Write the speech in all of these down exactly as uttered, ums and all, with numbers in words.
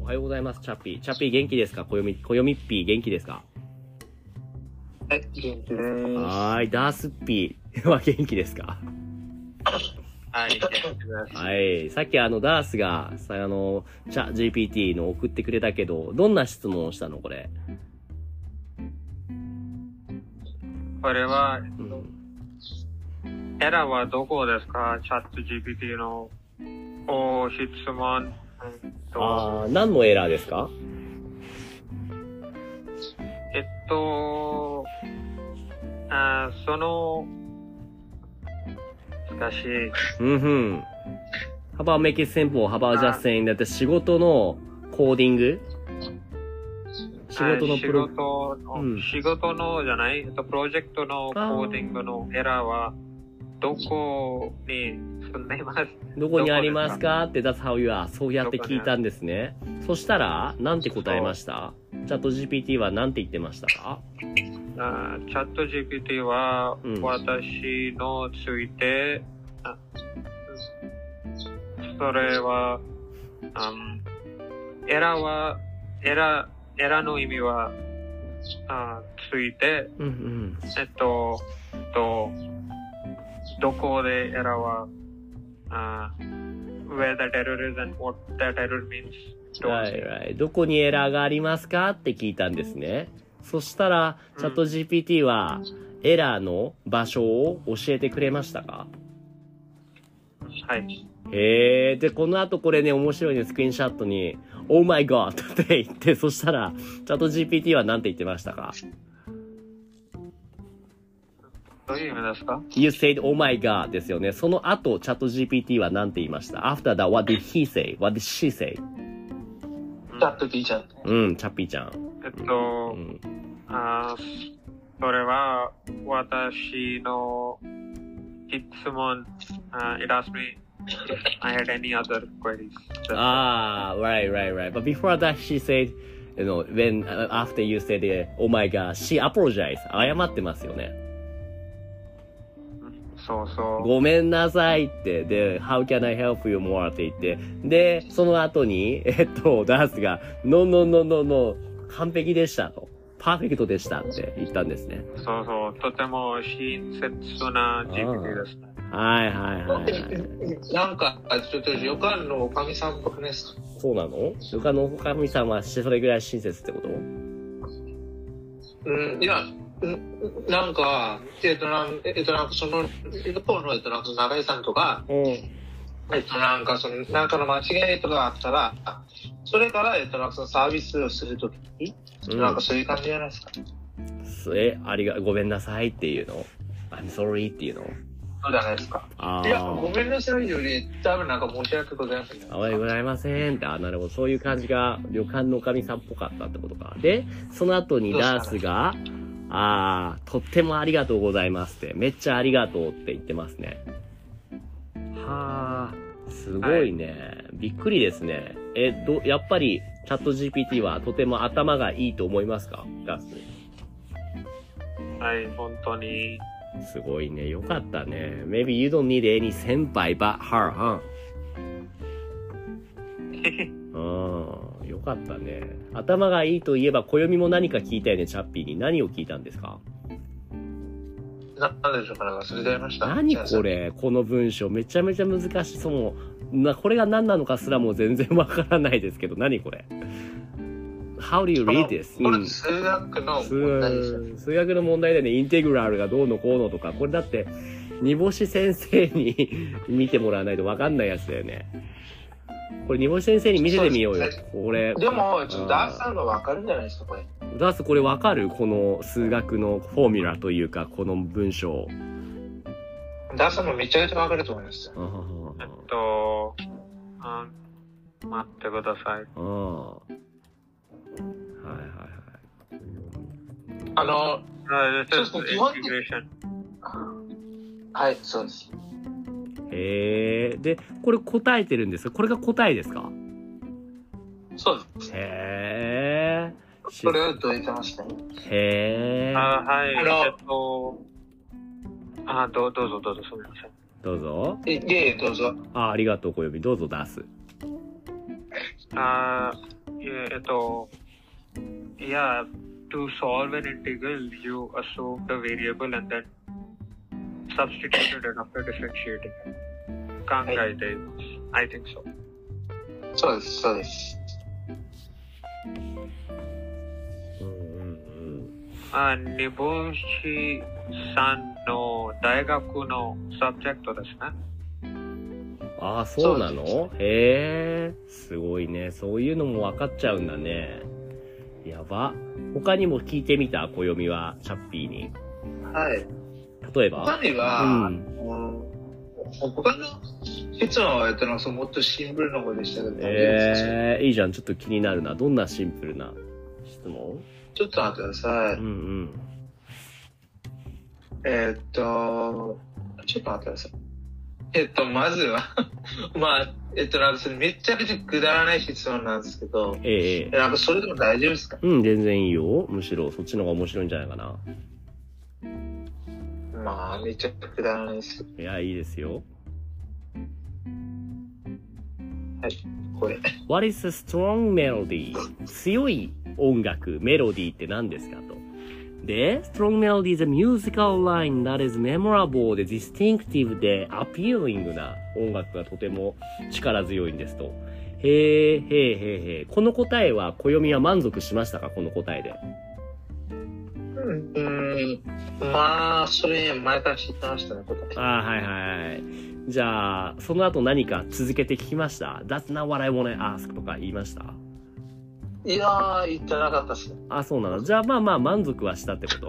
はようございます、チャッピー。チャッピー元気ですか？こよみ、こよみっぴー元気ですか？ はい、元気です。 はーい、ダースッピーは元気ですか？ はい、元気です。 はい。さっきあの、ダースが、さ、あの、チャ、ジーピーティー の送ってくれたけど、どんな質問をしたのこれ。 これは、 うん、 エラーはどこですか？チャット ジーピーティー の、お、質問。 あー、何のエラーですか？ えっと、あその、難しい。 うんふん。How about make it simple? How about just saying that 仕事のコーディング仕事のプロ、 仕事の、 うん、 仕事のじゃない、えっと、プロジェクトのコーディングのエラーは、どこに住んでいます？ どこにありますかって、that's how you are. そうやって聞いたんですね。そしたら、なんて答えました？チャット ジーピーティー はなんて言ってましたか？ あチャット ジーピーティー は、 うん、 私のついて、あそれは、あエラーは、エラー、エラーの意味は、あついて、 うんうん、 えっと、と、どこでエラーは、あ where that error is and what that error means. Right, right. どこにエラーがありますかって聞いたんですね。そしたら、チャット ジーピーティー は、エラーの場所を教えてくれましたか？ はい。 へえ、で、この後これね、面白いね、スクリーンショットに、Oh my god! って言って、そしたら、チャット ジーピーティー は何て言ってましたか？ どういう意味ですか？ You said Oh my god ですよね。その後、チャット ジーピーティー は何て言いました？ After that, what did he say? What did she say? チャット P ちゃん。 うん、チャッピーちゃん。 えっと、 うん、 あそれは、私の質問、uh, it asked me if I had any other queries. Ah, right, right, right. But before that, she said, you know, when, uh, after you said, uh, oh my god, she apologized. 謝ってますよね。 そうそう。 ごめんなさいって、で、how can I help you more って言って、で、その後に、えっと、ダースが、no, no, no, no, no, 完璧でしたと。パーフェクトでしたって言ったんですね。 そうそう。とても親切な ジーピーティー でした。 はいはいはい、はい。 なんか、ちょっと旅館のおかみさんっぽくないですか？ そうなの？旅館のおかみさんはそれぐらい親切ってこと？ うん、いや、なんか、えっと、なん、えっと、なんかその、一方の、えっと、なんか長井さんとか、 うん、 えっと、なんかその、なんかの間違いとかあったら、それから、えっと、なんかそのサービスをするときに、うん、なんかそういう感じじゃないですか。 え、ありが、ごめんなさいっていうの？ I'm sorry っていうの？ そうじゃないですか。いや、ごめんなさいより、多分なんか申し訳ございません。 あわよございませんって、あ、なるほど。そういう感じが、旅館のおかみさんっぽかったってことか。で、その後にダースが、あー、とってもありがとうございますって、めっちゃありがとうって言ってますね。はー、すごいね。はい、びっくりですね。え、ど、やっぱり、チャット ジーピーティー はとても頭がいいと思いますか？ダース。 はい、本当に。 すごいね。よかったね。Maybe you don't need any 先輩 but her, huh? うん、よかったね。頭がいいといえば、暦も何か聞いたよね、チャッピーに。何を聞いたんですか？ な、なんでしょうか、なんか忘れちゃいました。 何これ？この文章。めちゃめちゃ難しい。そう、な、これが何なのかすらも全然わからないですけど、何これ？How do you read this? これ数学の問題ですよ、ね、 数学の問題でね、インテグラルがどうのこうのとか、これだって、煮干し先生に見てもらわないと分かんないやつだよね。これ煮干し先生に見せてみようよ。これ。 でも、ちょっとダースさんが分かるんじゃないですか、これ。 ダースこれ分かる？この数学のフォーミュラというか、この文章。 ダースさんもめちゃめちゃ分かると思います。 えっと、あ待ってください。 ああ。はいはいはい。 あの、 そうですね、基本的に。 はい、そうです。 へえ。で、これ答えてるんですか？これが答えですか？ そうです。 へえ。 それをどう言ってましたね。 へえ。 あ、はい。えっと、あ、どう、どうぞどうぞ、すみません。 どうぞ。 え、で、どうぞ。 あ、ありがとう、小指。どうぞ出す。 あ、 ええっと、yeah, to solve an integral, you assume the variable and then substituted it after differentiating. 考えています。I think so. そうです、そうです。 うんうんうん。 あ、煮干しさんの大学のサブジェクトですね。 ああ、そうなの？へえ、すごいね。そういうのも分かっちゃうんだね。やば。他にも聞いてみた？暦は、チャッピーに。 はい。 例えば？ 他には、うん、他の質問は、えっと、もっとシンプルな方でしたけど、 えー、いいじゃん。ちょっと気になるな。どんなシンプルな質問？ ちょっと待ってください。 うんうん。 えー、っと、ちょっと待ってください。えっと、まずは、まあ、えっと、なんかそれめちゃくちゃくだらない質問なんですけど、 ええ、 なんかそれでも大丈夫ですか？ うん、全然いいよ。むしろそっちの方が面白いんじゃないかな。 まあ、めちゃくだらないです。 いや、いいですよ。 はい、これ。 What is a strong melody? 強い音楽、メロディーって何ですかと。で、strong melody is a musical line that is memorable で distinctive で appealing な音楽がとても力強いんですと。へえ、へえ、へえ、へえ。この答えは、暦は満足しましたか？この答えで。 うん、うんまあ、それ前から知ってましたね、答え。 ああ、はいはい。じゃあ、その後何か続けて聞きました？ That's not what I wanna ask とか言いました？ いやー、言ってなかったっすね。 あ、そうなの。じゃあまあまあ満足はしたってこと？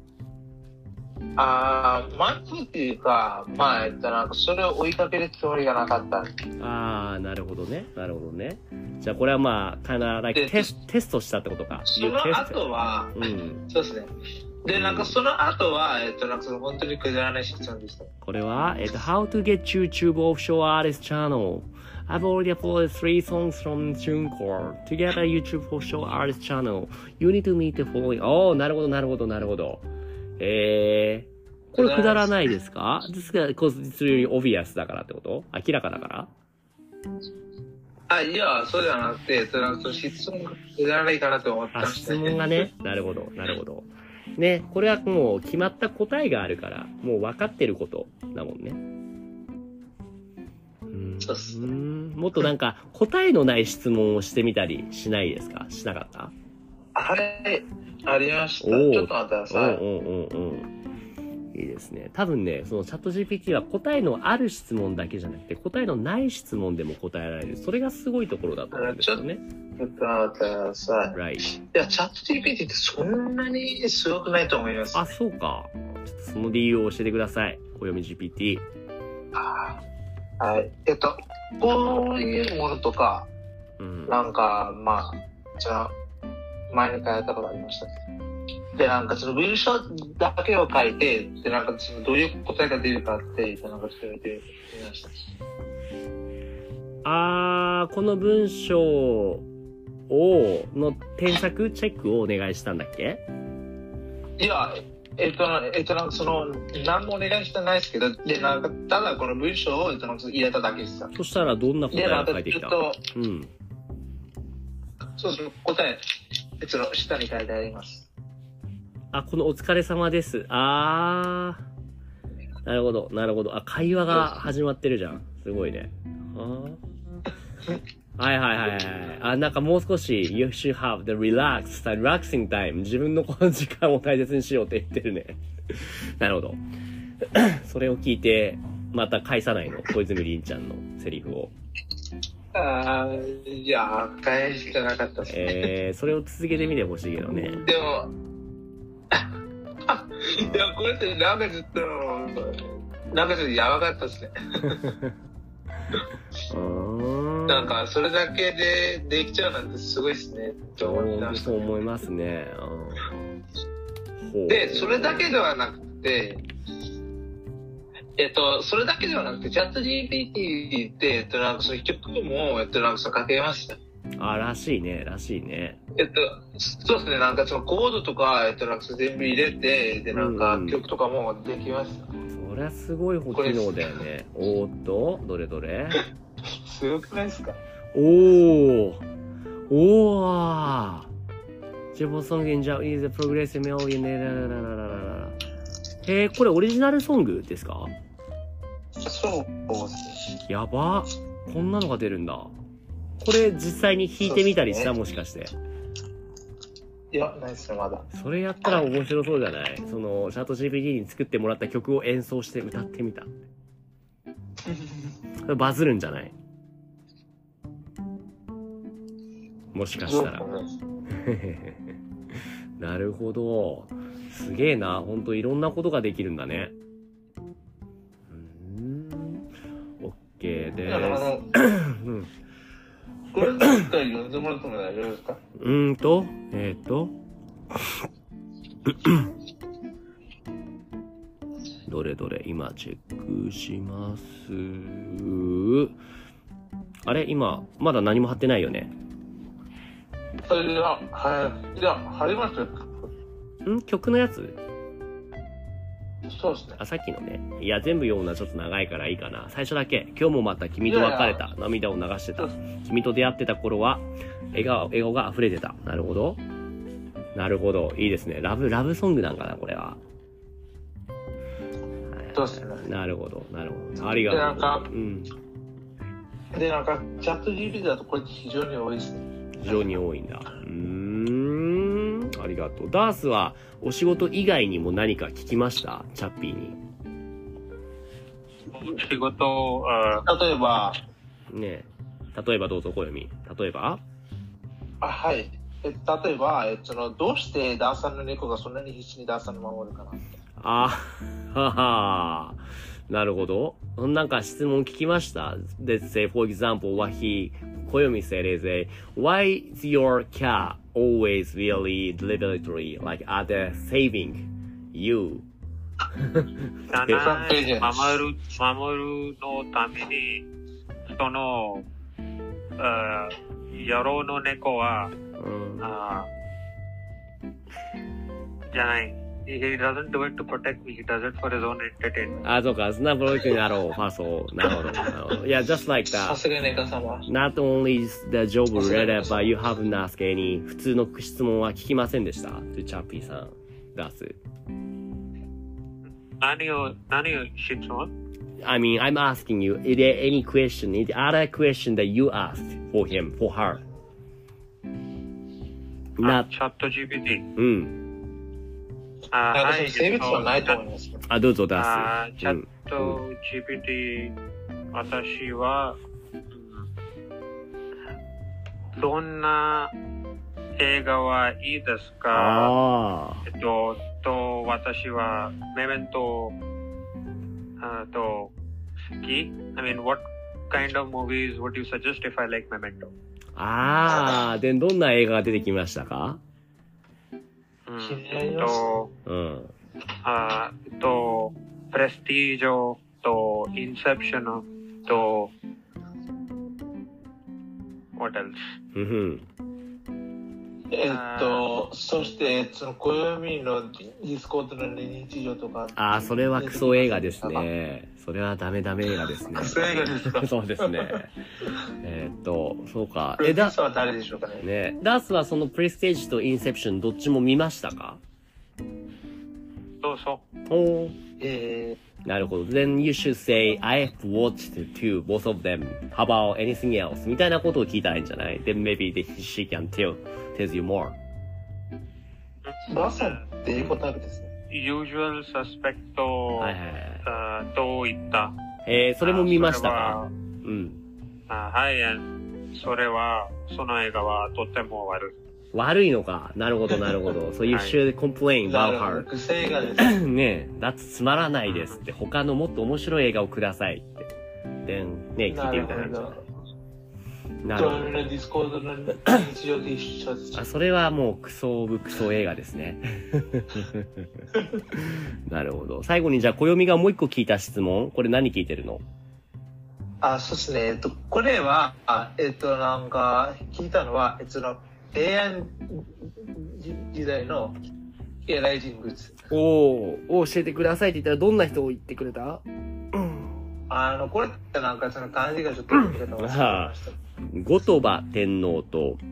あー、満足っていうか、まあ、えっと、なんかそれを追いかけるつもりがなかった。 ああ、なるほどね。なるほどね。じゃあこれはまあ、かなりテステストしたってことか。 その後は、うん、そうですね。で、なんかその後は、えっと、なんかその本当にくだらない質問でした。 これは、えっと、How to get YouTube offshore artist channel.I've already uploaded three songs from TuneCore. To get a YouTube offshore artist channel, you need to meet the following. おー、なるほど、なるほど、なるほど。えー、これくだらないですか？ですが、こいつより obvious だからってこと？明らかだから？ あ、いや、そうじゃなくて、その質問がくだらないかなと思ったんですね。 あ、質問がね。なるほど、なるほど。ね、これはもう決まった答えがあるから、もう分かってることだもんね。 そうっすね。 もっとなんか答えのない質問をしてみたりしないですか？しなかった？ はい、ありました。ちょっと待ってください。 うんうんうんうん。いいですね。多分ね、そのチャット ジーピーティー は答えのある質問だけじゃなくて、答えのない質問でも答えられる。それがすごいところだと思うんですよね。 ちょっと待ってください。 Right. いや、チャット ジーピーティー ってそんなにすごくないと思います。 あ、そうか。ちょっとその理由を教えてください。暦 ジーピーティー。 あはい。えっと、こういうものとか、うん、なんか、まあ、じゃあ、前に書いたことありましたね。で、なんかその文章だけを書いて、で、なんかそのどういう答えが出るかって、なんかちょっと見てみました。 あー、この文章を、の添削、チェックをお願いしたんだっけ？ いや、えっと、えっと、なんかその、何もお願いしてないですけど、で、なんか、ただこの文章を、えっと、入れただけです。 そしたらどんな答えが書いてきた？ で、 うん。 そうそう、答え、えっと、下に書いてあります。 あ、このお疲れ様です。あー。なるほど、なるほど。あ、会話が始まってるじゃん。すごいね。あはいはいはいはい。あ、なんかもう少し、you should have the relaxed, relaxing time. 自分のこの時間を大切にしようって言ってるね。なるほど。それを聞いて、また返さないの？小泉凛ちゃんのセリフを。 あー、いや、返してなかったですね。 えー、それを続けてみてほしいけどね。 でも、いや、これってなんかちょっと、なんかちょっとやばかったですね。なんか、それだけでできちゃうなんてすごいですね。と思ってました。 そう思いますね。 で、それだけではなくて、えっと、それだけではなくて、チャット ジーピーティー って、えっと、なんかその曲も、えっと、なんかそのかけました。 あ、らしいね、らしいね。 えっと、そうですね、なんかそのコードとか、えっと、なんか全部入れて、で、なんか曲とかもできました。 うんうん、そりゃすごい機能だよね。おーっと、どれどれすごくないですか？ おー、 おージェボソング in Japanese progressive melody ねらららららら。へー、これオリジナルソングですか？ そうですね。 やば。こんなのが出るんだ。これ実際に弾いてみたりした、 ね、 もしかして。 いや、ないですよ、まだ。 それやったら面白そうじゃない？その、チャット ジーピーティー に作ってもらった曲を演奏して歌ってみた。これバズるんじゃない？もしかしたら。なるほど。すげえな。ほんといろんなことができるんだね。うーん。OK でーす。うん。 これ何回読んでもらっても大丈夫ですか？ うーんと、えっと。どれどれ、今チェックします。あれ今、まだ何も貼ってないよね。 いや、はい。いや、貼りましたよ。 ん曲のやつ？ そうですね。 あ、さっきのね。いや、全部読むのはちょっと長いからいいかな。最初だけ。今日もまた君と別れた。いやいや涙を流してた。君と出会ってた頃は、笑顔、笑顔が溢れてた。なるほど。なるほど。いいですね。ラブ、ラブソングなんかな、これは。 そうですね。 なるほど、なるほど。ありがとう。 で、なんか、 うん。 で、なんか、チャット ジーピーティー だとこれ非常に多いですね。 非常に多いんだ。うーん。ありがとう。ダースはお仕事以外にも何か聞きました？チャッピーに。 仕事、 例えば。 ねえ。例えばどうぞ、小読み。例えばあ、はい。え例えば、えその、どうしてダーさんの猫がそんなに必死にダーさんを守るかなって。 あははなるほど。なんか質問聞きました。Let's say, for example, what he, 小読み said is a, why is your cat always really deliberately, like, other saving you? だな、守る、守るのために、その、あ野郎の猫は、うん、あじゃない。He doesn't do it to protect me. He does it for his own entertainment. あ、そうか。そんなプロジェクトになろう。ファースト。なるほど。なるほど。Yeah, just like that. さすがネカ様。 Not only the job related, but you haven't asked any 普通の質問は聞きませんでした。とチャッピーさん。出す。 何を、何を質問 I mean, I'm asking you, is there any question, is there other question that you asked for him, for her? Not チャット ジーピーティー。 うん。 あ、はい。 性別はないと思います。 あ、どうぞ出す。 あ、チャット ジーピーティー、私は、どんな映画はいいですか？ あえっと、と、私はメメント、あと、好き I mean, what kind of movies would you suggest if I like Memento? ああ、で、どんな映画が出てきましたか？ うん、と、うん、あと、プレスティージョと、インセプションと、what else? えっと、そして、その、暦のディスコードの日常とか。 ああ、それはクソ映画ですね。それはダメダメ映画ですね。 クソ映画ですか？ そうですね。えっと、そうか。 え、ダースは誰でしょうかね。 ね、ダースはそのプレステージとインセプションどっちも見ましたか？ そうそう。 おー。 えー、なるほど。Then you should say, I have watched two, both of them. How about anything else? みたいなことを聞いたらいいんじゃない？ Then maybe she can tell, tells you more. ダースって英語タイプですね。 Usual Suspect はいはいはい、 と言った。 えー、それも見ましたか？うん。 あ、はい、それは、その映画はとても悪い。 悪いのか。なるほど、なるほど。So you should complain about her. クソ映画です。 ねえ、だってつまらないですって。他のもっと面白い映画をくださいって。で、ね、聞いてみたらいいんじゃない？ なるほど。ディスコードの日常で一緒です。 あ、それはもうクソオブクソ映画ですね。なるほど。最後にじゃあ、暦がもう一個聞いた質問。これ何聞いてるの？ あ、そうですね。えっと、これは、あえっと、なんか、聞いたのは、えっと、エーアイ 時代のエライ人物。 おー、教えてくださいって言ったらどんな人を言ってくれた？ あの、これってなんかその漢字がちょっと言い方が忘れました。 後鳥羽天皇と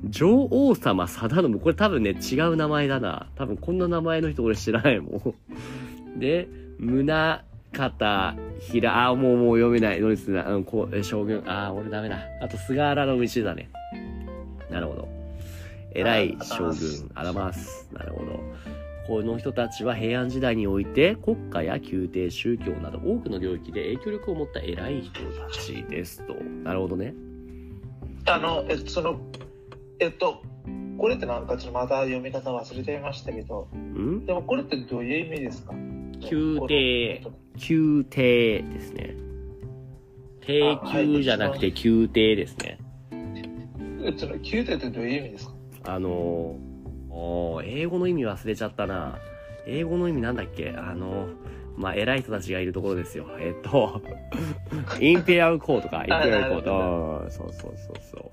女王様貞信。これ多分ね、違う名前だな。多分こんな名前の人俺知らないもん。で、宗方平、あ、もうもう読めない。どうですね。うん、こう、将軍。あ、俺ダメだ。あと、菅原道真ね。なるほど。偉い将軍。あらます。なるほど。この人たちは平安時代において国家や宮廷、宗教など多くの領域で影響力を持った偉い人たちですと。なるほどね。 あの、えっと、その、えっと、これってなんかちょっとまた読み方忘れていましたけど、 ん？ でもこれってどういう意味ですか？ 宮廷、宮廷ですね。帝宮じゃなくて宮廷ですね。 えその宮廷ってどういう意味ですか？ あのお英語の意味忘れちゃったな。英語の意味なんだっけ？あのまあ、偉い人たちがいるところですよ。えっと、インペアルコーとか、インペアルコーと、そうそうそうそう。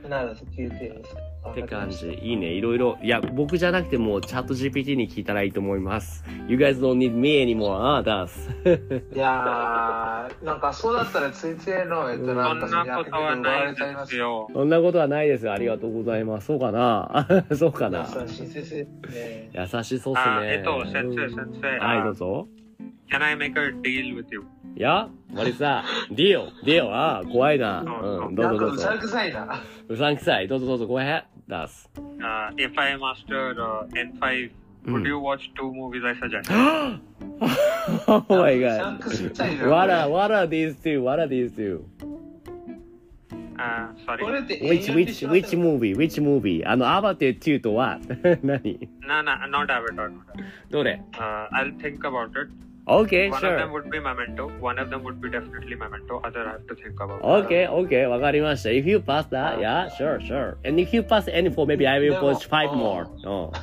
なるほど、宮廷ですか。 って感じ。いいね。いろいろ。いや、僕じゃなくても、チャット ジーピーティー に聞いたらいいと思います。You guys don't need me anymore. ああ、だす。 いやー、なんかそうだったら先生の、えっと、 そなんかんなことはないですよ。 そんなことはないです。ありがとうございます。そうかなそうかな優しい先生ね。 優しそうっすあ、 ね。 えっと、先生、先生。 はい、どうぞ。 Can I make a deal with you? いや、マリさん、ディオ、ディオ、ああ、怖いな。うん、どうぞどうぞ。 うさんくさいな。 うさんくさい。どうぞどうぞ、ごへん。出す。 Uh, if I master uh,エヌファイブ, would you watch two movies I suggest? Oh my god. What are, what are these two? What are these two? Uh, sorry. Which, which, which movie? Which movie? あの、アバターツーとは何 No, no, not Avatar. どれ Uh, I'll think about it. Okay, One sure. of them would be Memento. One of them would be definitely Memento. Other I have to think about. Okay, okay, わかりました。If you pass that, yeah, sure, sure. And if you pass any four, maybe I will push five more. Oh.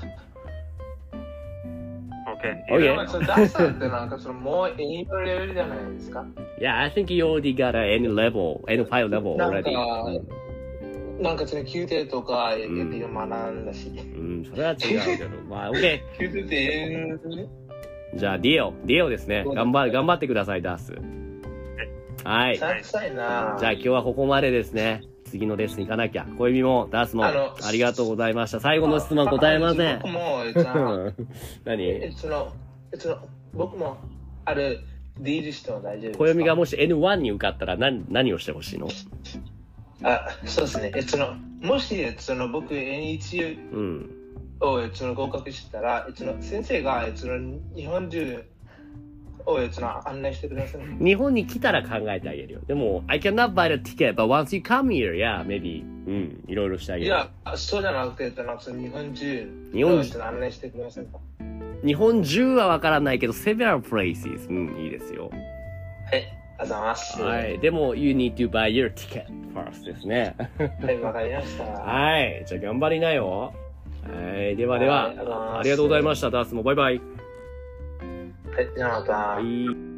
Okay. Okay. ダスってなんかそのもう N のレベルじゃないですか？ Yeah, I think you already got a N level, Nファイブ level なん already. か、なんかその宮廷とか学んだし。 うん、それは違うけど。まあ、OK。 宮廷って N じゃあ、ディオ、ディオですね。頑張、頑張ってください、ダース。はい。じゃあ、 臭いな。 今日はここまでですね。次のレッスン行かなきゃ。小指も、ダースも、ありがとうございました。最後の質問答えません。 僕も、えっと、 何えその、えその、僕も、ある、ディールしても大丈夫ですか？ 小指がもし エヌワン に受かったら何、何をしてほしいの？ あ、そうですね。えその、もし、その、僕 エヌワンうん。 をその合格したら、その先生がその日本中をその案内してください。 日本に来たら考えてあげるよ。でも、I cannot buy the ticket, but once you come here, yeah, maybe, うん、いろいろしてあげる。 いや、そうじゃなくて、その日本中日本を案内してください。 日本中はわからないけど、several places、うん、いいですよ。 はい、ありがとうございます。 はい、でも、you need to buy your ticket first ですね。 はい、わかりました。 はい、じゃあ頑張りなよ。はい、ではでは、ありがとうございました。ダースもバイバイ。 はい、じゃあまた。 はい。